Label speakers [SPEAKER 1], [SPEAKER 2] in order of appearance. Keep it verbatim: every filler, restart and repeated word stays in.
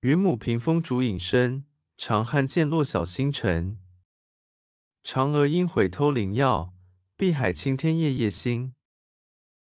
[SPEAKER 1] 雲母屏風燭影深，長漢漸落曉星沉。嫦娥應悔偷靈藥，碧海青天夜夜心。